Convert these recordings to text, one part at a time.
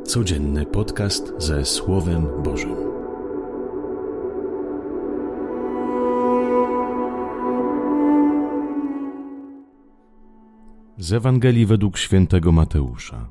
Codzienny podcast ze Słowem Bożym. Z Ewangelii według świętego Mateusza.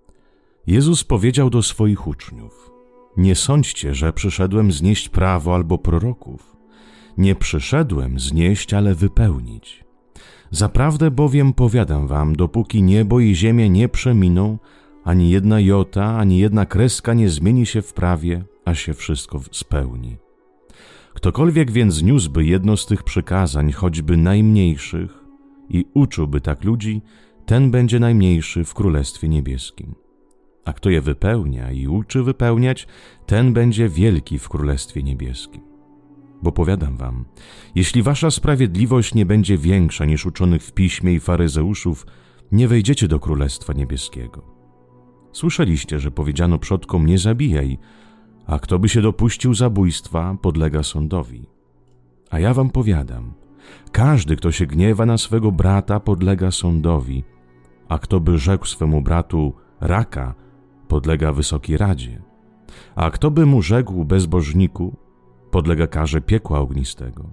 Jezus powiedział do swoich uczniów: nie sądźcie, że przyszedłem znieść prawo albo proroków. Nie przyszedłem znieść, ale wypełnić. Zaprawdę bowiem powiadam wam, dopóki niebo i ziemia nie przeminą, ani jedna jota, ani jedna kreska nie zmieni się w prawie, a się wszystko spełni. Ktokolwiek więc niósłby jedno z tych przykazań, choćby najmniejszych, i uczyłby tak ludzi, ten będzie najmniejszy w Królestwie Niebieskim. A kto je wypełnia i uczy wypełniać, ten będzie wielki w Królestwie Niebieskim. Bo powiadam wam, jeśli wasza sprawiedliwość nie będzie większa niż uczonych w piśmie i faryzeuszów, nie wejdziecie do Królestwa Niebieskiego. Słyszeliście, że powiedziano przodkom: nie zabijaj, a kto by się dopuścił zabójstwa, podlega sądowi. A ja wam powiadam, każdy, kto się gniewa na swego brata, podlega sądowi, a kto by rzekł swemu bratu raka, podlega Wysokiej Radzie, a kto by mu rzekł bezbożniku, podlega karze piekła ognistego.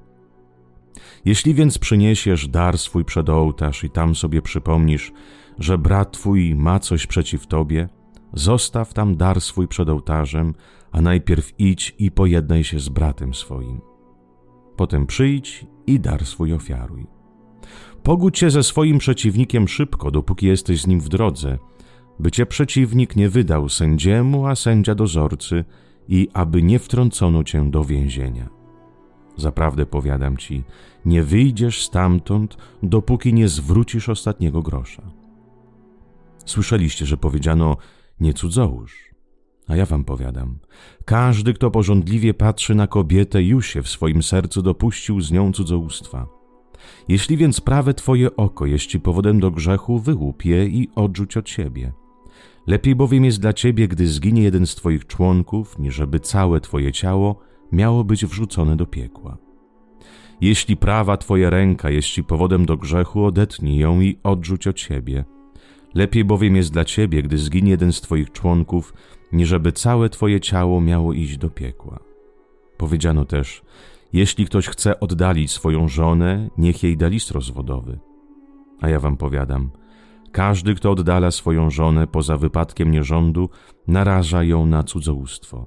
Jeśli więc przyniesiesz dar swój przed ołtarz i tam sobie przypomnisz, że brat twój ma coś przeciw tobie, zostaw tam dar swój przed ołtarzem, a najpierw idź i pojednaj się z bratem swoim. Potem przyjdź i dar swój ofiaruj. Pogódź się ze swoim przeciwnikiem szybko, dopóki jesteś z nim w drodze, by cię przeciwnik nie wydał sędziemu, a sędzia dozorcy, i aby nie wtrącono cię do więzienia. Zaprawdę powiadam ci, nie wyjdziesz stamtąd, dopóki nie zwrócisz ostatniego grosza. Słyszeliście, że powiedziano: nie cudzołóż. A ja wam powiadam, każdy, kto pożądliwie patrzy na kobietę, już się w swoim sercu dopuścił z nią cudzołóstwa. Jeśli więc prawe twoje oko jest ci powodem do grzechu, wyłup je i odrzuć od siebie. Lepiej bowiem jest dla ciebie, gdy zginie jeden z twoich członków, niżeby całe twoje ciało miało być wrzucone do piekła. Jeśli prawa twoja ręka jest ci powodem do grzechu, odetnij ją i odrzuć od siebie. Lepiej bowiem jest dla ciebie, gdy zginie jeden z twoich członków, niżeby całe twoje ciało miało iść do piekła. Powiedziano też: jeśli ktoś chce oddalić swoją żonę, niech jej da list rozwodowy. A ja wam powiadam, każdy, kto oddala swoją żonę poza wypadkiem nierządu, naraża ją na cudzołóstwo.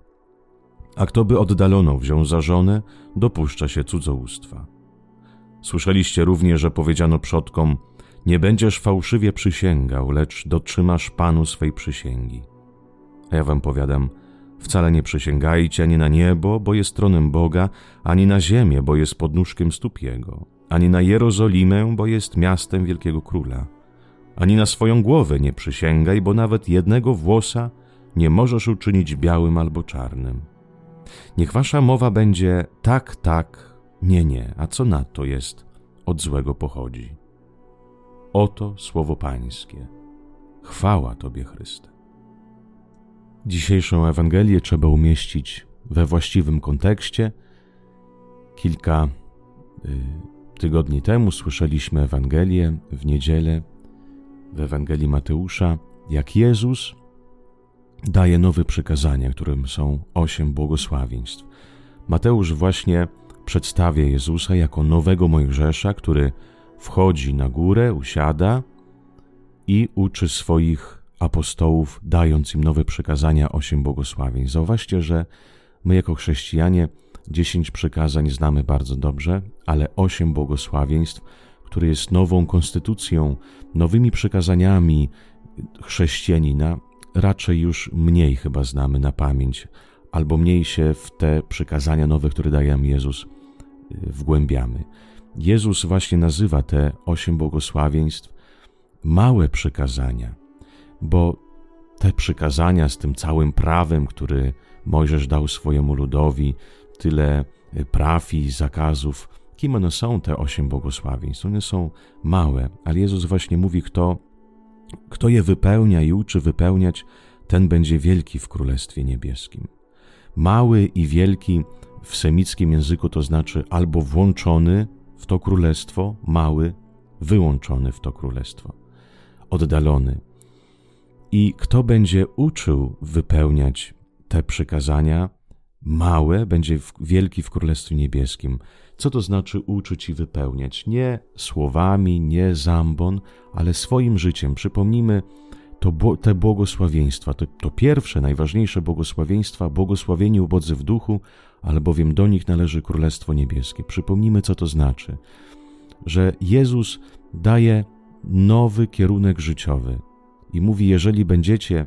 A kto by oddaloną wziął za żonę, dopuszcza się cudzołóstwa. Słyszeliście również, że powiedziano przodkom: nie będziesz fałszywie przysięgał, lecz dotrzymasz Panu swej przysięgi. A ja wam powiadam, wcale nie przysięgajcie ani na niebo, bo jest tronem Boga, ani na ziemię, bo jest podnóżkiem stóp Jego, ani na Jerozolimę, bo jest miastem Wielkiego Króla. Ani na swoją głowę nie przysięgaj, bo nawet jednego włosa nie możesz uczynić białym albo czarnym. Niech wasza mowa będzie tak, tak, nie, nie, a co na to jest, od złego pochodzi. Oto słowo Pańskie. Chwała Tobie, Chryste. Dzisiejszą Ewangelię trzeba umieścić we właściwym kontekście. Kilka tygodni temu słyszeliśmy Ewangelię w niedzielę, w Ewangelii Mateusza, jak Jezus daje nowe przykazania, którym są 8 błogosławieństw. Mateusz właśnie przedstawia Jezusa jako nowego Mojżesza, który wchodzi na górę, usiada i uczy swoich apostołów, dając im nowe przykazania, 8 błogosławieństw. Zauważcie, że my jako chrześcijanie 10 przykazań znamy bardzo dobrze, ale 8 błogosławieństw, które jest nową konstytucją, nowymi przykazaniami chrześcijanina, raczej już mniej chyba znamy na pamięć, albo mniej się w te przykazania nowe, które daje nam Jezus, wgłębiamy. Jezus właśnie nazywa te 8 błogosławieństw małe przykazania, bo te przykazania z tym całym prawem, który Mojżesz dał swojemu ludowi, tyle praw i zakazów, kim one są, te 8 błogosławieństw? One są małe, ale Jezus właśnie mówi, kto je wypełnia i uczy wypełniać, ten będzie wielki w Królestwie Niebieskim. Mały i wielki w semickim języku to znaczy albo włączony w to królestwo, mały, wyłączony w to królestwo, oddalony. I kto będzie uczył wypełniać te przykazania, małe będzie wielki w Królestwie Niebieskim. Co to znaczy uczyć i wypełniać? Nie słowami, nie zambon, ale swoim życiem. Przypomnijmy te błogosławieństwa. To pierwsze, najważniejsze błogosławieństwa, błogosławieni ubodzy w duchu, albowiem do nich należy Królestwo Niebieskie. Przypomnijmy, co to znaczy. Że Jezus daje nowy kierunek życiowy i mówi, jeżeli będziecie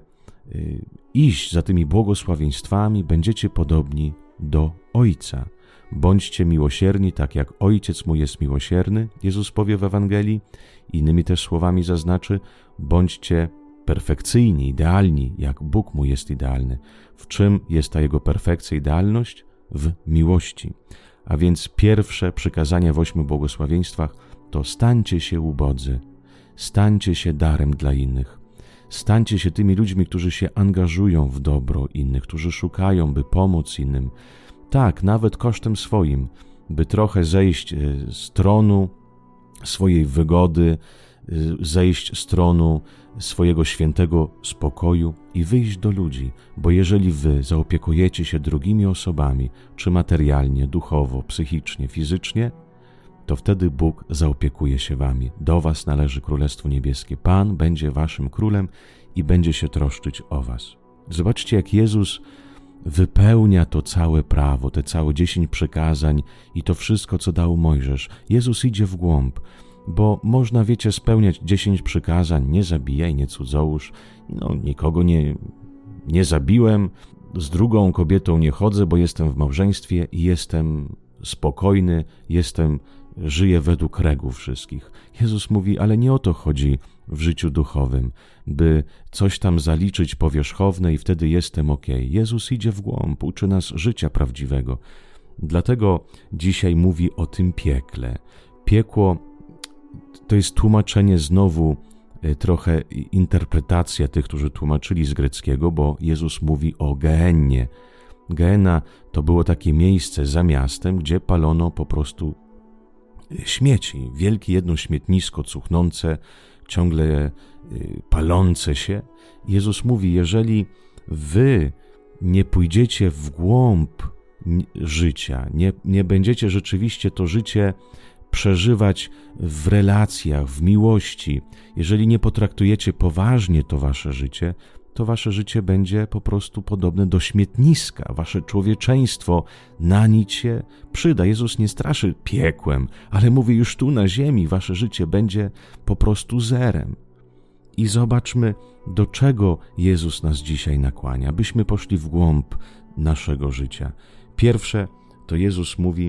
iść za tymi błogosławieństwami, będziecie podobni do Ojca. Bądźcie miłosierni, tak jak Ojciec mój jest miłosierny, Jezus powie w Ewangelii. Innymi też słowami zaznaczy, bądźcie perfekcyjni, idealni, jak Bóg mój jest idealny. W czym jest ta Jego perfekcja, idealność? W miłości. A więc pierwsze przykazanie w 8 błogosławieństwach to stańcie się ubodzy, stańcie się darem dla innych. Stańcie się tymi ludźmi, którzy się angażują w dobro innych, którzy szukają, by pomóc innym. Tak, nawet kosztem swoim, by trochę zejść z tronu swojej wygody, zejść z tronu swojego świętego spokoju i wyjść do ludzi, bo jeżeli wy zaopiekujecie się drugimi osobami, czy materialnie, duchowo, psychicznie, fizycznie, to wtedy Bóg zaopiekuje się wami. Do was należy Królestwo Niebieskie. Pan będzie waszym królem i będzie się troszczyć o was. Zobaczcie, jak Jezus wypełnia to całe prawo, te całe 10 przykazań i to wszystko, co dał Mojżesz. Jezus idzie w głąb, bo można, wiecie, spełniać 10 przykazań, nie zabijaj, nie cudzołóż, nikogo nie zabiłem, z drugą kobietą nie chodzę, bo jestem w małżeństwie i jestem spokojny, żyję według reguł wszystkich. Jezus mówi, ale nie o to chodzi w życiu duchowym, by coś tam zaliczyć powierzchowne i wtedy jestem okej. Jezus idzie w głąb, uczy nas życia prawdziwego. Dlatego dzisiaj mówi o tym piekle. Piekło to jest tłumaczenie znowu, trochę interpretacja tych, którzy tłumaczyli z greckiego, bo Jezus mówi o Gehennie. Gehenna to było takie miejsce za miastem, gdzie palono po prostu śmieci. Wielkie jedno śmietnisko cuchnące, ciągle palące się. Jezus mówi, jeżeli wy nie pójdziecie w głąb życia, nie będziecie rzeczywiście to życie przeżywać w relacjach, w miłości, jeżeli nie potraktujecie poważnie to wasze życie będzie po prostu podobne do śmietniska. Wasze człowieczeństwo na nic się przyda. Jezus nie straszy piekłem, ale mówi, już tu na ziemi wasze życie będzie po prostu zerem. I zobaczmy, do czego Jezus nas dzisiaj nakłania, byśmy poszli w głąb naszego życia. Pierwsze, to Jezus mówi,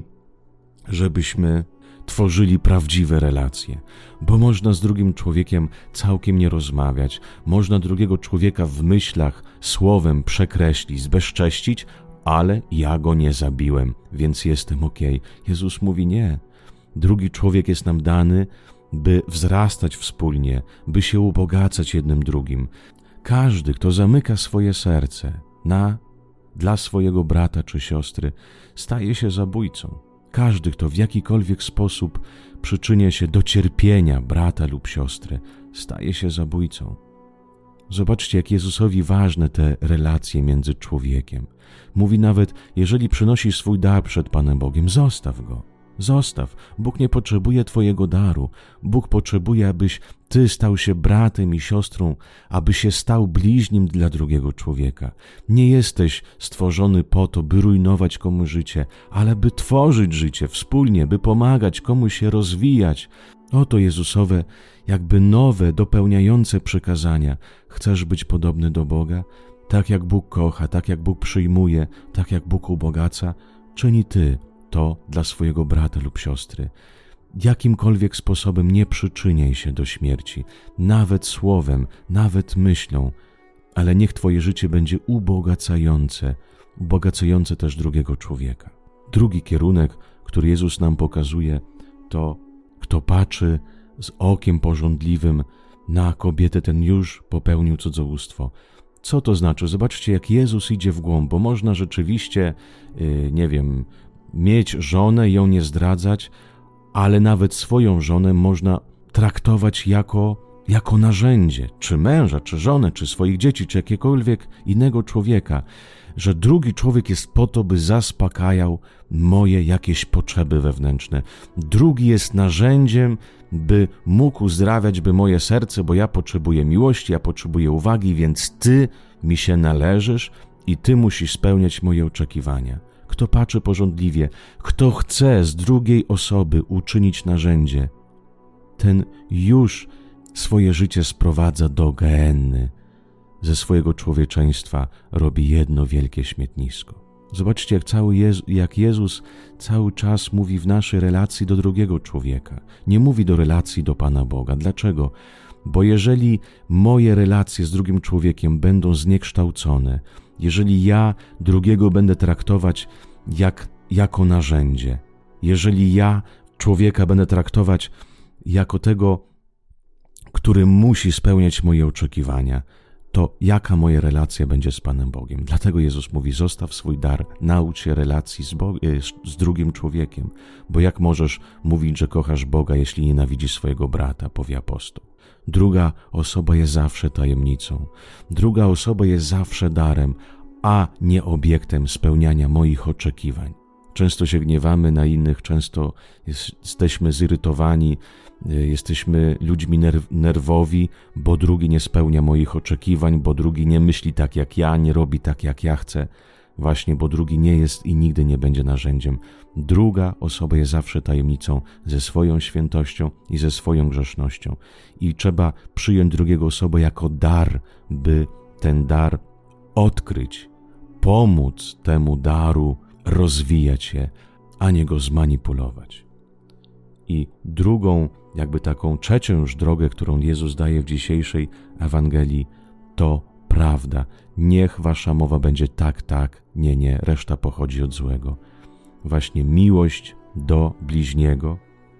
żebyśmy tworzyli prawdziwe relacje, bo można z drugim człowiekiem całkiem nie rozmawiać, można drugiego człowieka w myślach, słowem przekreślić, zbezcześcić, ale ja go nie zabiłem, więc jestem okej. Jezus mówi nie. Drugi człowiek jest nam dany, by wzrastać wspólnie, by się ubogacać jednym drugim. Każdy, kto zamyka swoje serce dla swojego brata czy siostry, staje się zabójcą. Każdy, kto w jakikolwiek sposób przyczynia się do cierpienia brata lub siostry, staje się zabójcą. Zobaczcie, jak Jezusowi ważne te relacje między człowiekiem. Mówi nawet, jeżeli przynosisz swój dar przed Panem Bogiem, zostaw go. Zostaw. Bóg nie potrzebuje twojego daru. Bóg potrzebuje, abyś ty stał się bratem i siostrą, aby się stał bliźnim dla drugiego człowieka. Nie jesteś stworzony po to, by rujnować komuś życie, ale by tworzyć życie wspólnie, by pomagać komuś się rozwijać. Oto Jezusowe, jakby nowe, dopełniające przykazania. Chcesz być podobny do Boga? Tak jak Bóg kocha, tak jak Bóg przyjmuje, tak jak Bóg ubogaca, czyni ty to dla swojego brata lub siostry. Jakimkolwiek sposobem nie przyczyniaj się do śmierci, nawet słowem, nawet myślą, ale niech twoje życie będzie ubogacające też drugiego człowieka. Drugi kierunek, który Jezus nam pokazuje, to kto patrzy z okiem pożądliwym na kobietę, ten już popełnił cudzołóstwo. Co to znaczy? Zobaczcie, jak Jezus idzie w głąb, bo można rzeczywiście, mieć żonę i ją nie zdradzać, ale nawet swoją żonę można traktować jako jako narzędzie, czy męża, czy żonę, czy swoich dzieci, czy jakiegokolwiek innego człowieka, że drugi człowiek jest po to, by zaspokajał moje jakieś potrzeby wewnętrzne. Drugi jest narzędziem, by mógł uzdrawiać moje serce, bo ja potrzebuję miłości, ja potrzebuję uwagi, więc Ty mi się należysz i Ty musisz spełniać moje oczekiwania. Kto patrzy pożądliwie, kto chce z drugiej osoby uczynić narzędzie, ten już swoje życie sprowadza do gehenny. Ze swojego człowieczeństwa robi jedno wielkie śmietnisko. Zobaczcie, jak Jezus cały czas mówi w naszej relacji do drugiego człowieka. Nie mówi do relacji do Pana Boga. Dlaczego? Bo jeżeli moje relacje z drugim człowiekiem będą zniekształcone, jeżeli ja drugiego będę traktować jako narzędzie, jeżeli ja człowieka będę traktować jako tego, który musi spełniać moje oczekiwania, to jaka moja relacja będzie z Panem Bogiem? Dlatego Jezus mówi, zostaw swój dar, naucz się relacji z drugim człowiekiem, bo jak możesz mówić, że kochasz Boga, jeśli nienawidzisz swojego brata, powie apostoł. Druga osoba jest zawsze tajemnicą, druga osoba jest zawsze darem, a nie obiektem spełniania moich oczekiwań. Często się gniewamy na innych, często jesteśmy zirytowani, jesteśmy ludźmi nerwowi, bo drugi nie spełnia moich oczekiwań, bo drugi nie myśli tak jak ja, nie robi tak jak ja chcę. Właśnie, bo drugi nie jest i nigdy nie będzie narzędziem. Druga osoba jest zawsze tajemnicą ze swoją świętością i ze swoją grzesznością. I trzeba przyjąć drugiego osobę jako dar, by ten dar odkryć, pomóc temu daru rozwijać się, a nie go zmanipulować. I drugą, taką trzecią już drogę, którą Jezus daje w dzisiejszej Ewangelii, to prawda. Niech wasza mowa będzie tak, tak, nie, nie, reszta pochodzi od złego. Właśnie miłość do bliźniego,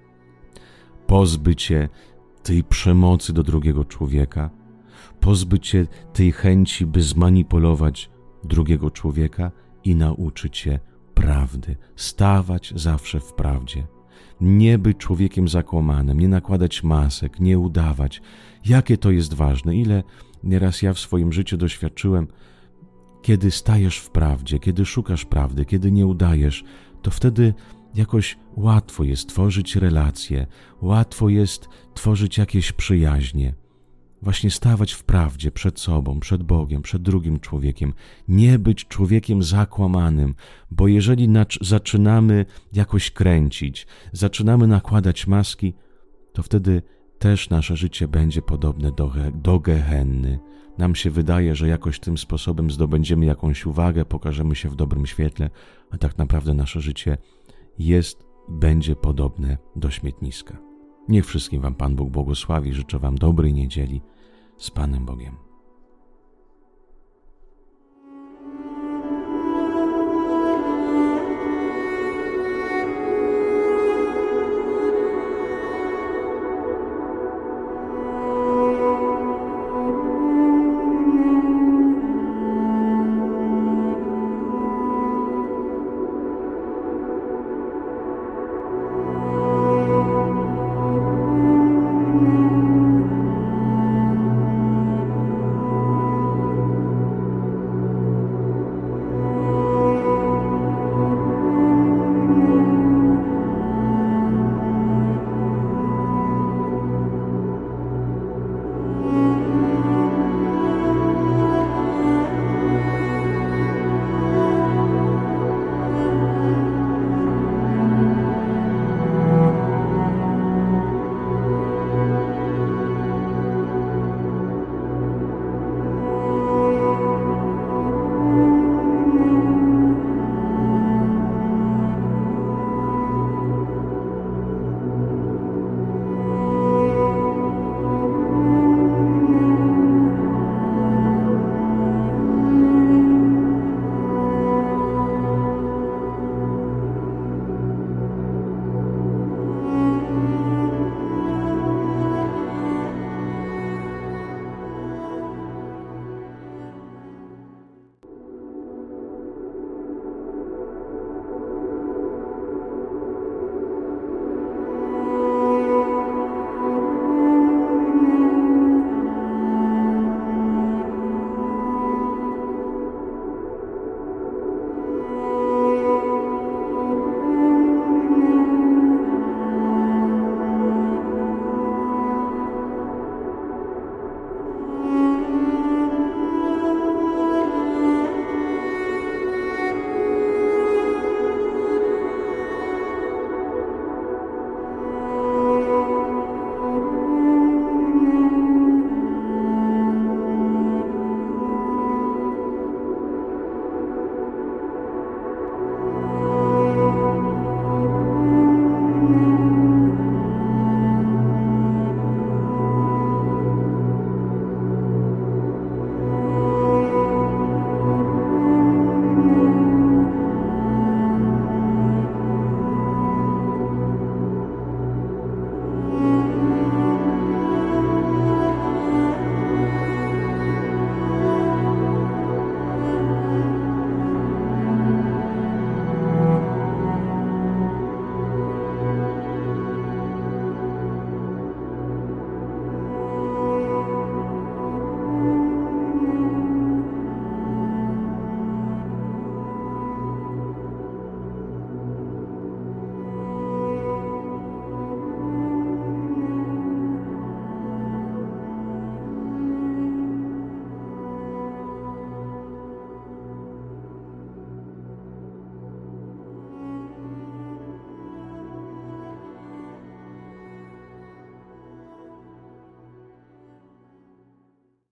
pozbyć się tej przemocy do drugiego człowieka, pozbyć się tej chęci, by zmanipulować drugiego człowieka i nauczyć się prawdy, stawać zawsze w prawdzie. Nie być człowiekiem zakłamanym, nie nakładać masek, nie udawać. Jakie to jest ważne, ile nieraz ja w swoim życiu doświadczyłem, kiedy stajesz w prawdzie, kiedy szukasz prawdy, kiedy nie udajesz, to wtedy jakoś łatwo jest tworzyć relacje, łatwo jest tworzyć jakieś przyjaźnie. Właśnie stawać w prawdzie przed sobą, przed Bogiem, przed drugim człowiekiem. Nie być człowiekiem zakłamanym, bo jeżeli zaczynamy jakoś kręcić, zaczynamy nakładać maski, to wtedy też nasze życie będzie podobne do gehenny. Nam się wydaje, że jakoś tym sposobem zdobędziemy jakąś uwagę, pokażemy się w dobrym świetle, a tak naprawdę nasze życie będzie podobne do śmietniska. Niech wszystkim wam Pan Bóg błogosławi. Życzę wam dobrej niedzieli z Panem Bogiem.